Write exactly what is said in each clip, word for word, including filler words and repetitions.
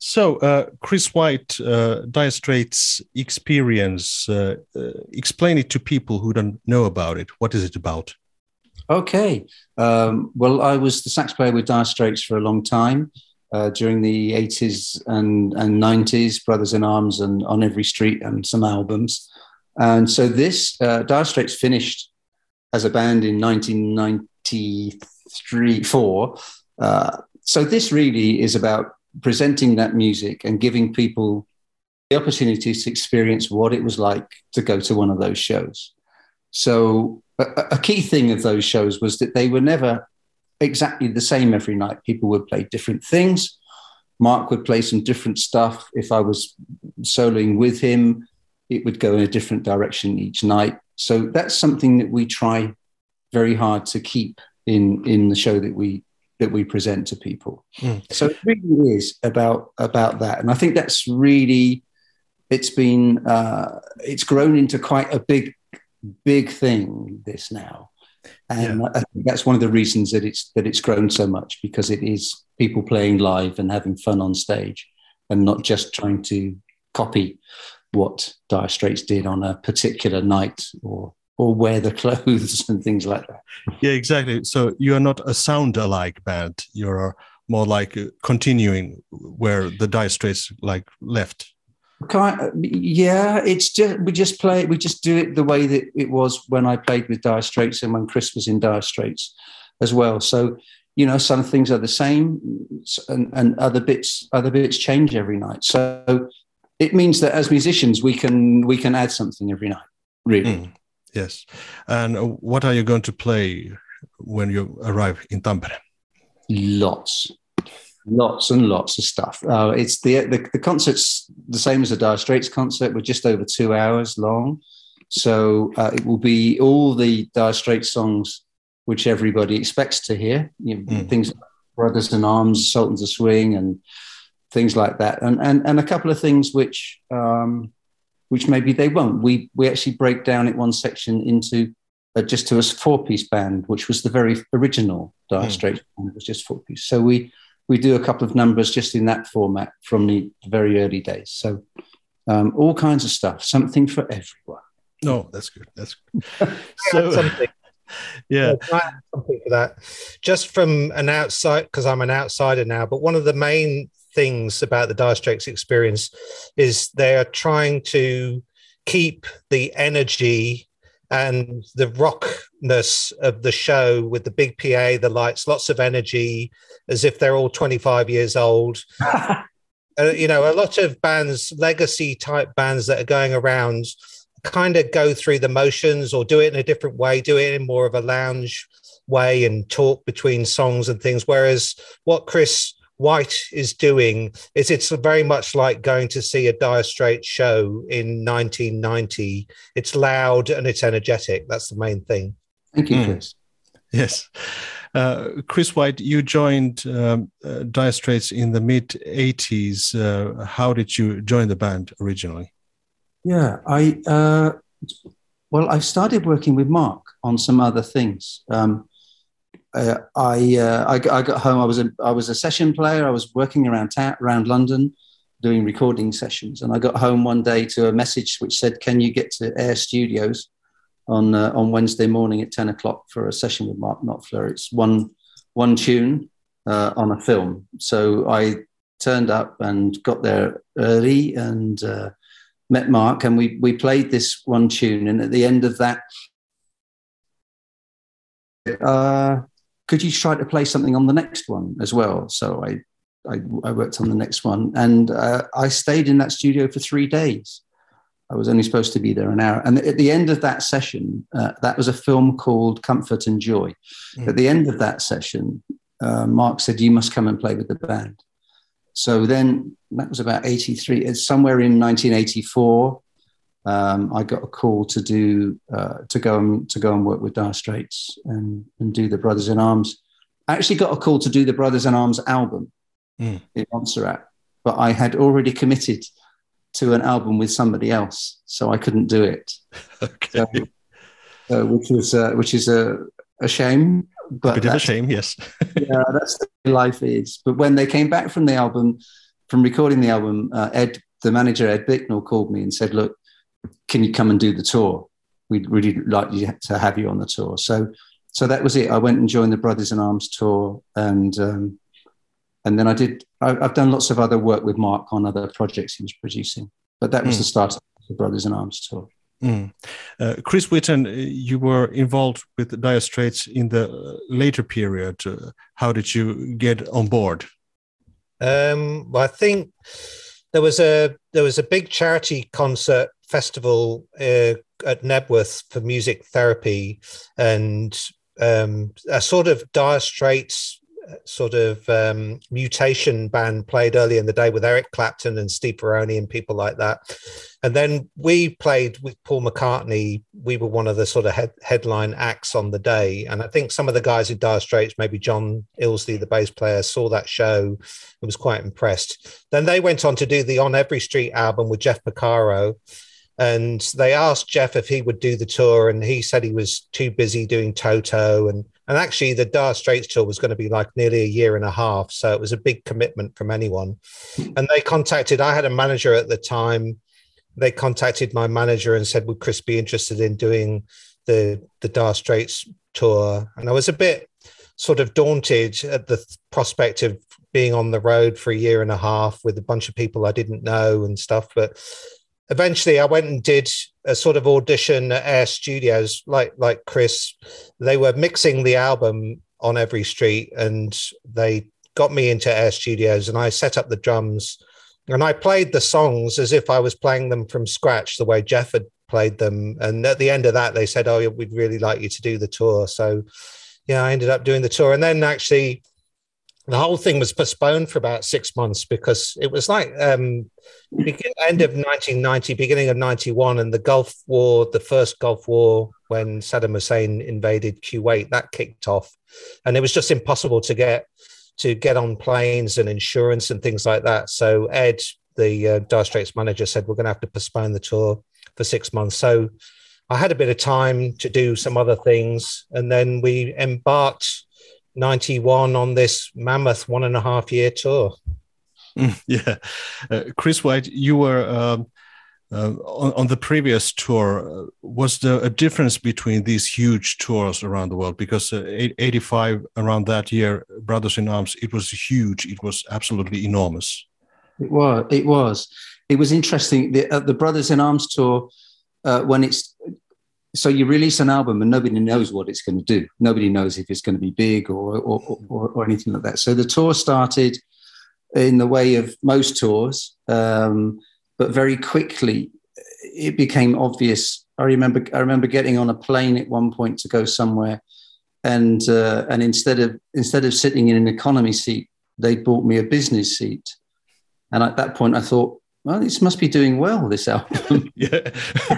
So, uh, Chris White, uh, Dire Straits experience, uh, uh, explain it to people who don't know about it. What is it about? Okay. Um, well, I was the sax player with Dire Straits for a long time, uh, during the eighties and, and nineties, Brothers in Arms and On Every Street and some albums. And so this, uh, Dire Straits finished as a band in nineteen ninety-three, four. Uh, so this really is about presenting that music and giving people the opportunity to experience what it was like to go to one of those shows. So a, a key thing of those shows was that they were never exactly the same every night. People would play different things. Mark would play some different stuff. If I was soloing with him, it would go in a different direction each night. So that's something that we try very hard to keep in, in the show that we that we present to people. Mm. So it really is about about that. And I think that's really, it's been, uh, it's grown into quite a big, big thing, this now. And yeah. I think that's one of the reasons that it's that it's grown so much, because it is people playing live and having fun on stage and not just trying to copy what Dire Straits did on a particular night or or wear the clothes and things like that. Yeah, exactly. So you are not a sound-alike band. You're more like continuing where the Dire Straits like left. Kind yeah, it's just we just play we just do it the way that it was when I played with Dire Straits and when Chris was in Dire Straits as well. So, you know, some things are the same and, and other bits other bits change every night. So it means that as musicians we can we can add something every night, really. Mm. Yes. And what are you going to play when you arrive in Tampere? Lots. Lots and lots of stuff. Uh, it's the, the the concert's the same as a Dire Straits concert. We're just over two hours long. So uh, it will be all the Dire Straits songs which everybody expects to hear. You know, mm. Things like Brothers in Arms, Sultans of Swing and things like that. And and, and a couple of things which... Um, which maybe they won't. We we actually break down it one section into uh, just to a four-piece band, which was the very original Dire mm. Straits band. It was just four-piece. So we we do a couple of numbers just in that format from the very early days. So um, all kinds of stuff, something for everyone. No, that's good. That's good. So something. Yeah, yeah something for that. Just from an outside, because I'm an outsider now, but one of the main things about the Dire Straits experience is they are trying to keep the energy and the rockness of the show with the big P A, the lights, lots of energy, as if they're all twenty-five years old. uh, you know, a lot of bands, legacy type bands that are going around kind of go through the motions or do it in a different way, do it in more of a lounge way and talk between songs and things. Whereas what Chris White is doing is it's very much like going to see a Dire Straits show in nineteen ninety. It's loud and it's energetic. That's the main thing. Thank you, Chris. Mm. Yes. Uh, Chris White, you joined um, uh, Dire Straits in the mid eighties. Uh, how did you join the band originally? Yeah, I uh, well, I started working with Mark on some other things. Um, Uh, I, uh, I I got home. I was a I was a session player. I was working around ta- around London, doing recording sessions. And I got home one day to a message which said, "Can you get to Air Studios on uh, on Wednesday morning at ten o'clock for a session with Mark Knopfler? It's one one tune uh, on a film." So I turned up and got there early and uh, met Mark, and we we played this one tune. And at the end of that, Uh, could you try to play something on the next one as well? So I, I, I worked on the next one, and uh, I stayed in that studio for three days. I was only supposed to be there an hour. And at the end of that session, uh, that was a film called Comfort and Joy. Mm. At the end of that session, uh, Mark said, "You must come and play with the band." So then that was about eighty-three. It's somewhere in nineteen eighty-four. Um, I got a call to do uh, to go and to go and work with Dire Straits and, and do the Brothers in Arms. I actually got a call to do the Brothers in Arms album mm. in Montserrat, but I had already committed to an album with somebody else, so I couldn't do it. Okay, so, uh, which was uh, which is a, a shame. But a bit of a shame, yes. Yeah, that's the way life is. But when they came back from the album, from recording the album, uh, Ed, the manager, Ed Bicknell, called me and said, look, can you come and do the tour? We'd really like you to have you on the tour. So, so that was it. I went and joined the Brothers in Arms tour, and um, and then I did. I, I've done lots of other work with Mark on other projects he was producing, but that was mm. the start of the Brothers in Arms tour. Mm. Uh, Chris Whitten, you were involved with Dire Straits in the later period. Uh, how did you get on board? Um, well, I think there was a there was a big charity concert festival uh, at Nebworth for music therapy, and um, a sort of Dire Straits sort of um, mutation band played early in the day with Eric Clapton and Steve Peroni and people like that. And then we played with Paul McCartney. We were one of the sort of head, headline acts on the day. And I think some of the guys in Dire Straits, maybe John Ilsley, the bass player, saw that show and was quite impressed. Then they went on to do the On Every Street album with Jeff Porcaro. And they asked Jeff if he would do the tour, and he said he was too busy doing Toto. And, and actually, the Dire Straits tour was going to be like nearly a year and a half. So it was a big commitment from anyone. And they contacted, I had a manager at the time. They contacted my manager and said, would Chris be interested in doing the, the Dire Straits tour? And I was a bit sort of daunted at the prospect of being on the road for a year and a half with a bunch of people I didn't know and stuff. But eventually I went and did a sort of audition at Air Studios, like like Chris. They were mixing the album On Every Street, and they got me into Air Studios, and I set up the drums, and I played the songs as if I was playing them from scratch, the way Jeff had played them. And at the end of that, they said, oh, we'd really like you to do the tour. So yeah, I ended up doing the tour. And then actually the whole thing was postponed for about six months because it was like um, end of nineteen ninety, beginning of ninety-one, and the Gulf War, the first Gulf War, when Saddam Hussein invaded Kuwait, that kicked off. And it was just impossible to get to get on planes and insurance and things like that. So Ed, the uh, Dire Straits manager, said, we're going to have to postpone the tour for six months. So I had a bit of time to do some other things. And then we embarked ninety-one on this mammoth one and a half year tour. Mm, yeah. Uh, Chris White, you were um, uh, on, on the previous tour. Uh, was there a difference between these huge tours around the world? Because uh, eighty-five, around that year, Brothers in Arms, it was huge. It was absolutely enormous. It was. It was. It was interesting. The, uh, the Brothers in Arms tour, uh, when it's, so you release an album and nobody knows what it's going to do. Nobody knows if it's going to be big or or, or or anything like that. So the tour started in the way of most tours, um, but very quickly it became obvious. I remember I remember getting on a plane at one point to go somewhere, and uh, and instead of instead of sitting in an economy seat, they bought me a business seat. And at that point, I thought, well, this must be doing well, this album. Yeah.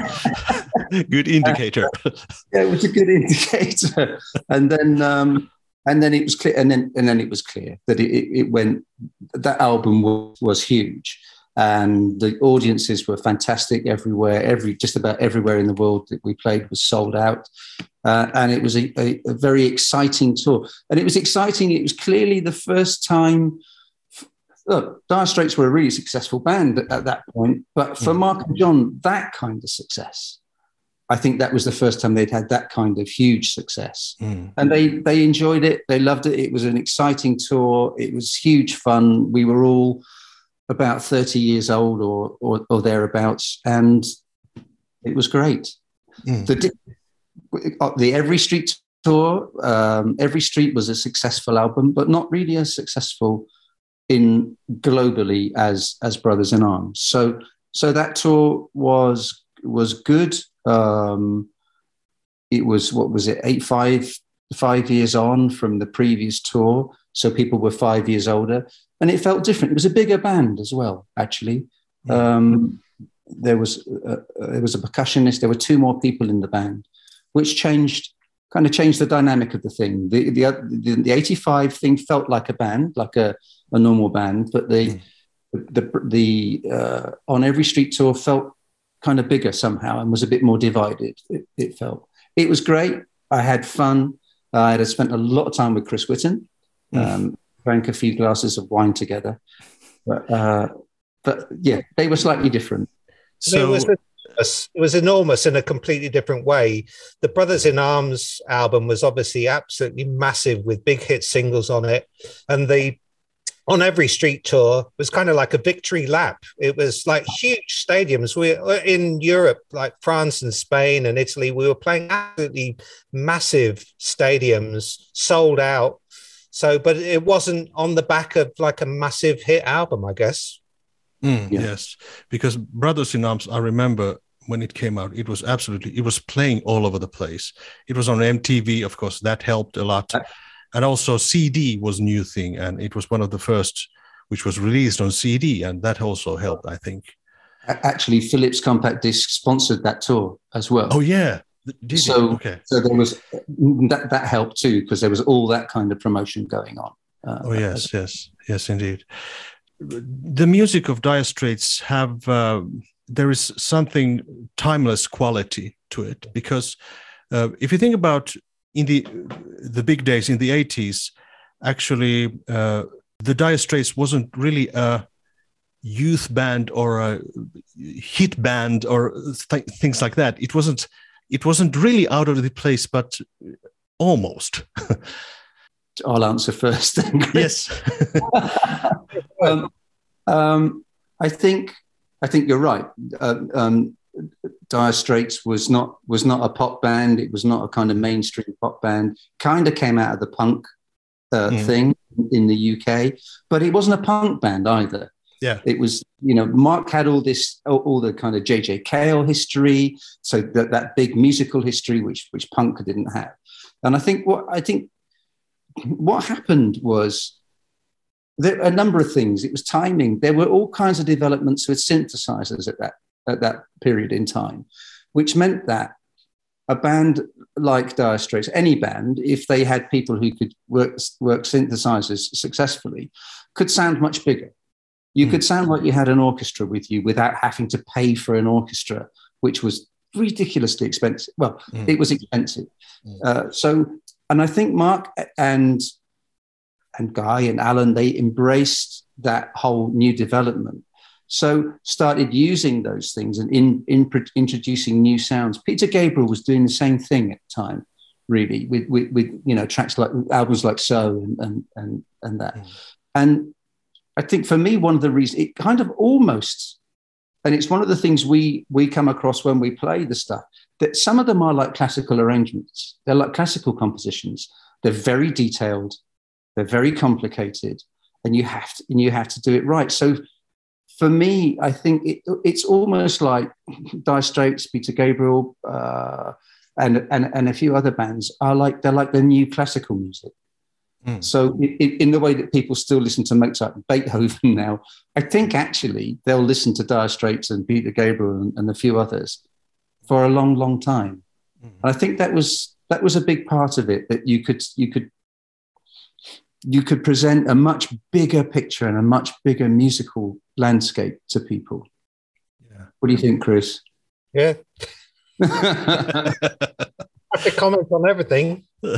Good indicator. Uh, yeah, it was a good indicator. And then um, and then it was clear, and then and then it was clear that it, it, it went, that album was, was huge. And the audiences were fantastic everywhere. Every just about everywhere in the world that we played was sold out. Uh, and it was a, a, a very exciting tour. And it was exciting. It was clearly the first time. Look, Dire Straits were a really successful band at, at that point, but for Mark and John, that kind of success, I think that was the first time they'd had that kind of huge success. Mm. And they they enjoyed it. They loved it. It was an exciting tour. It was huge fun. We were all about thirty years old or or, or thereabouts, and it was great. Mm. The, the Every Street tour, um, Every Street was a successful album, but not really as successful in globally as as Brothers in Arms. So so that tour was was good. Um, it was, what was it, eight, five, five years on from the previous tour. So people were five years older, and it felt different. It was a bigger band as well, actually. Yeah. Um, there was a, there was a percussionist. There were two more people in the band, which changed kind of changed the dynamic of the thing. The the the, the eighty-five thing felt like a band, like a, a normal band, but the mm. the the, the uh, On Every Street tour felt kind of bigger somehow and was a bit more divided. It, it felt. It was great. I had fun. I had spent a lot of time with Chris Whitten, mm. um, drank a few glasses of wine together, But, uh, but yeah, they were slightly different. So it was, enormous. It was enormous in a completely different way. The Brothers in Arms album was obviously absolutely massive with big hit singles on it. And the On Every Street tour was kind of like a victory lap. It was like huge stadiums. We were in Europe, like France and Spain and Italy. We were playing absolutely massive stadiums, sold out. So, but it wasn't on the back of like a massive hit album, I guess. Mm, yeah. Yes, because Brothers in Arms, I remember when it came out, it was absolutely, it was playing all over the place. It was on M T V, of course, that helped a lot. And also C D was a new thing, and it was one of the first which was released on C D, and that also helped, I think. Actually, Philips Compact Disc sponsored that tour as well. Oh, yeah. Did so, okay. so there was, that, that helped too, because there was all that kind of promotion going on. Uh, oh, yes, yes, yes, indeed. The music of Dire Straits have, uh, there is something timeless quality to it, because uh, if you think about in the the big days in the eighties, actually, uh, the Dire Straits wasn't really a youth band or a hit band or th- things like that. It wasn't. It wasn't really out of the place, but almost. I'll answer first. Then, yes. um, um, I think. I think you're right. Uh, um, Dire Straits was not was not a pop band. It was not a kind of mainstream pop band. Kind of came out of the punk uh, mm. thing in the U K, but it wasn't a punk band either. Yeah, it was. You know, Mark had all this, all, all the kind of J J Cale history, so that that big musical history, which which punk didn't have. And I think what I think what happened was there a number of things. It was timing. There were all kinds of developments with synthesizers at that. at that period in time, which meant that a band like Dire Straits, any band, if they had people who could work, work synthesizers successfully, could sound much bigger. You mm. could sound like you had an orchestra with you without having to pay for an orchestra, which was ridiculously expensive. Well, mm. it was expensive. Mm. Uh, so, and I think Mark and, and Guy and Alan, they embraced that whole new development. So started using those things and in, in introducing new sounds. Peter Gabriel was doing the same thing at the time, really, with with, with you know tracks like albums like So and and and, and that. Mm. And I think for me, one of the reasons it kind of almost, and it's one of the things we we come across when we play the stuff, that some of them are like classical arrangements. They're like classical compositions. They're very detailed. They're very complicated, and you have to and you have to do it right. So. For me, I think it, it's almost like Dire Straits, Peter Gabriel, uh, and, and and a few other bands are like they're like the new classical music. Mm. So, it, in the way that people still listen to Mozart and Beethoven now, I think actually they'll listen to Dire Straits and Peter Gabriel and, and a few others for a long, long time. Mm. And I think that was that was a big part of it, that you could you could. you could present a much bigger picture and a much bigger musical landscape to people. Yeah. What do you think, Chris? Yeah. I have to comment on everything. No,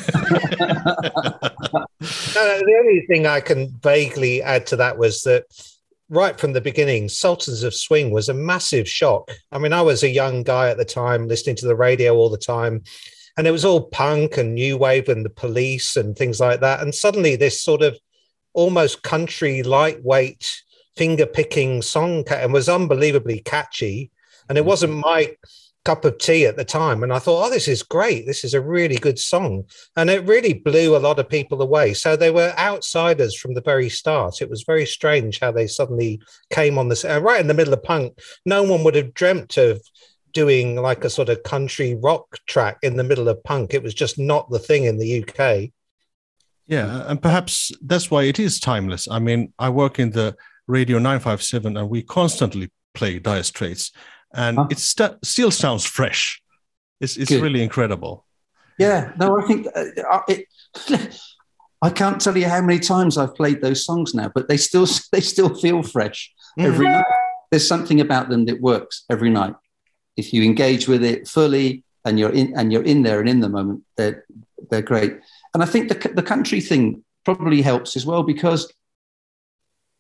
the only thing I can vaguely add to that was that right from the beginning, Sultans of Swing was a massive shock. I mean, I was a young guy at the time listening to the radio all the time. And it was all punk and new wave and the Police and things like that. And suddenly this sort of almost country lightweight finger picking song and was unbelievably catchy. And it wasn't my cup of tea at the time. And I thought, oh, this is great. This is a really good song. And it really blew a lot of people away. So they were outsiders from the very start. It was very strange how they suddenly came on this uh, right in the middle of punk. No one would have dreamt of doing like a sort of country rock track in the middle of punk. It was just not the thing in the U K. Yeah, and perhaps that's why it is timeless. I mean, I work in the Radio nine five seven and we constantly play Dire Straits and huh? it st- still sounds fresh. It's, it's really incredible. Yeah, no, I think uh, it, I can't tell you how many times I've played those songs now, but they still they still feel fresh mm. every night. There's something about them that works every night. If you engage with it fully and you're in and you're in there and in the moment, they're they're great. And I think the the country thing probably helps as well, because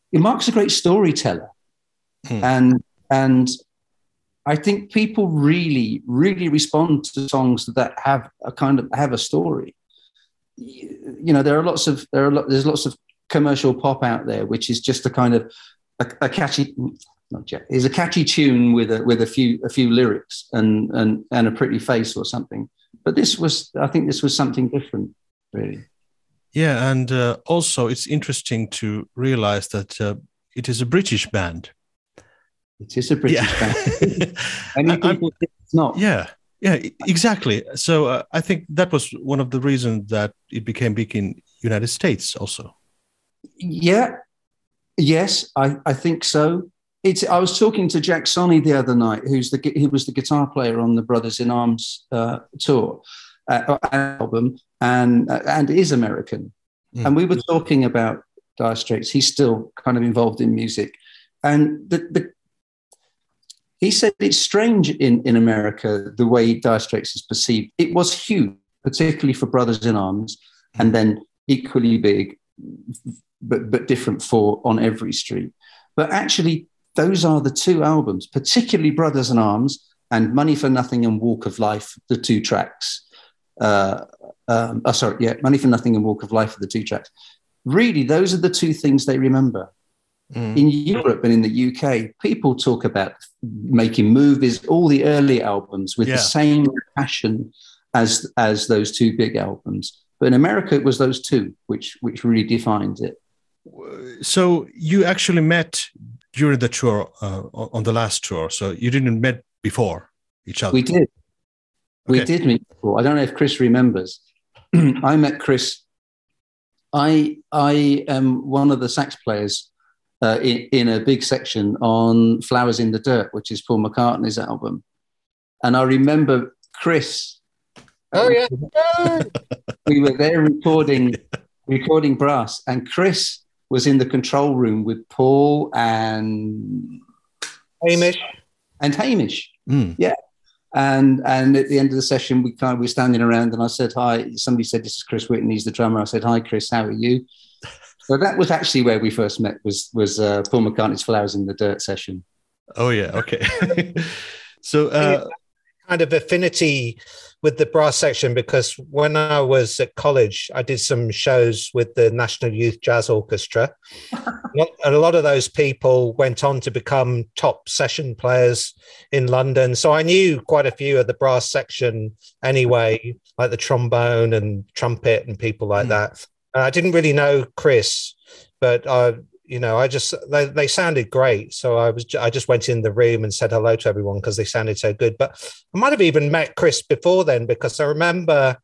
Mark's a great storyteller. Hmm. And, and I think people really, really respond to songs that have a kind of, have a story. You know, there are lots of, there are, lo- there's lots of commercial pop out there, which is just a kind of a, a catchy, not yet, is a catchy tune with a, with a few, a few lyrics and, and, and a pretty face or something. But this was, I think this was something different, really. Yeah. And uh, also it's interesting to realize that uh, it is a British band. It is a British yeah. band. Many people think it's not. Yeah, yeah, exactly. So uh, I think that was one of the reasons that it became big in United States also. Yeah, yes, I, I think so. It's. I was talking to Jack Sonney the other night, who's the he was the guitar player on the Brothers in Arms uh, tour uh, album, and uh, and is American. Mm. And we were talking about Dire Straits. He's still kind of involved in music, and the the. He said it's strange in, in America, the way Dire Straits is perceived. It was huge, particularly for Brothers in Arms, and then equally big, but, but different for On Every Street. But actually, those are the two albums, particularly Brothers in Arms and Money for Nothing and Walk of Life, the two tracks. Uh, um, oh, sorry, yeah, Money for Nothing and Walk of Life are the two tracks. Really, those are the two things they remember. Mm. In Europe and in the U K, people talk about making movies, all the early albums with yeah. the same passion as as those two big albums. But in America, it was those two which which really defined it. So you actually met during the tour, uh, on the last tour. So you didn't met before each other. We did. Okay. We did meet before. I don't know if Chris remembers. I met Chris. I I am one of the sax players. Uh, in, in a big section on Flowers in the Dirt, which is Paul McCartney's album. And I remember Chris. Oh, yeah. We were there recording, recording brass, and Chris was in the control room with Paul and Hamish. And Hamish. Mm. Yeah. And and at the end of the session, we kind of we were standing around and I said, hi. Somebody said, this is Chris Whitten, he's the drummer. I said, hi, Chris, how are you? So that was actually where we first met, was was uh, Paul McCartney's Flowers in the Dirt session. Oh, yeah. Okay. So uh, kind of affinity with the brass section, because when I was at college, I did some shows with the National Youth Jazz Orchestra. And a lot of those people went on to become top session players in London. So I knew quite a few of the brass section anyway, like the trombone and trumpet and people like mm. that. I didn't really know Chris, but I, you know, I just they, they sounded great. So I was I just went in the room and said hello to everyone because they sounded so good. But I might have even met Chris before then, because I remember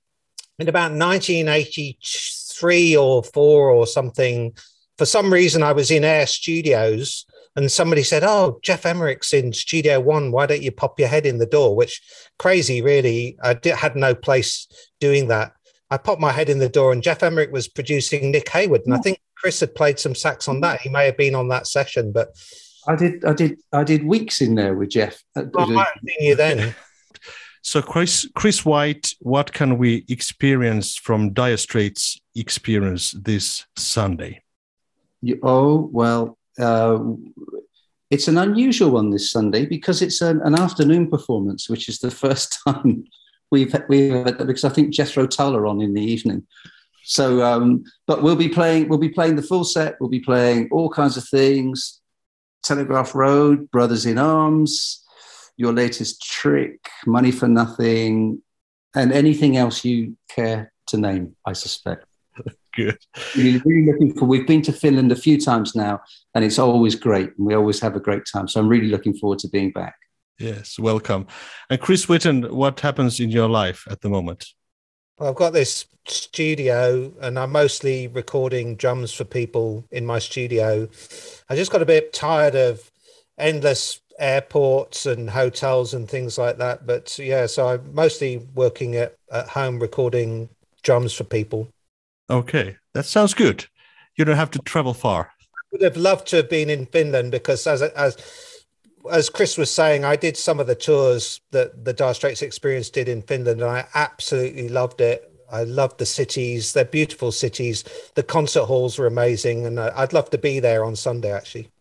in about nineteen eighty-three or four or something, for some reason I was in Air Studios and somebody said, "Oh, Geoff Emmerich's in Studio One. Why don't you pop your head in the door?" Which crazy, really. I did, had no place doing that. I popped my head in the door and Geoff Emmerich was producing Nick Hayward. And I think Chris had played some sax on that. He may have been on that session, but I did, I did, I did weeks in there with Geoff. I might have seen you then. So Chris, Chris White, what can we experience from Dire Straits' experience this Sunday? You, oh, well, uh, it's an unusual one this Sunday because it's an, an afternoon performance, which is the first time We've we've had that, because I think Jethro Tull are on in the evening. So, um, but we'll be playing. We'll be playing the full set. We'll be playing all kinds of things: Telegraph Road, Brothers in Arms, Your Latest Trick, Money for Nothing, and anything else you care to name. I suspect. Good. Really, really looking for. We've been to Finland a few times now, and it's always great. And we always have a great time. So I'm really looking forward to being back. Yes, welcome. And Chris Whitten, what happens in your life at the moment? Well, I've got this studio and I'm mostly recording drums for people in my studio. I just got a bit tired of endless airports and hotels and things like that. But yeah, so I'm mostly working at, at home recording drums for people. Okay, that sounds good. You don't have to travel far. I would have loved to have been in Finland because as as As Chris was saying, I did some of the tours that the Dire Straits Experience did in Finland, and I absolutely loved it. I love the cities. They're beautiful cities. The concert halls were amazing, and I'd love to be there on Sunday, actually.